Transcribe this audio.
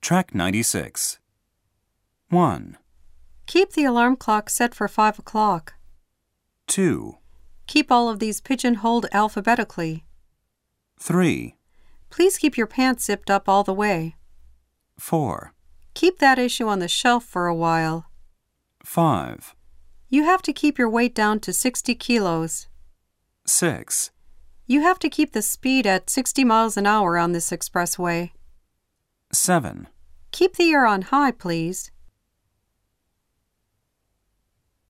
Track 96. 1, Keep the alarm clock set for 5 o'clock. 2, Keep all of these pigeonholed alphabetically. 3, Please keep your pants zipped up all the way. 4, Keep that issue on the shelf for a while. 5, You have to keep your weight down to 60 kilos. 6, You have to keep the speed at 60 miles an hour on this expressway. 7, Keep the air on high, please.